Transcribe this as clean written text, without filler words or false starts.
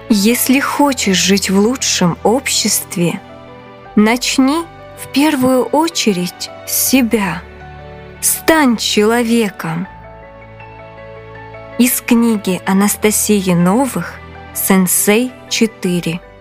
Если хочешь жить в лучшем обществе, начни в первую очередь с себя. Стань человеком. Из книги Анастасии Новых «Сенсей 4».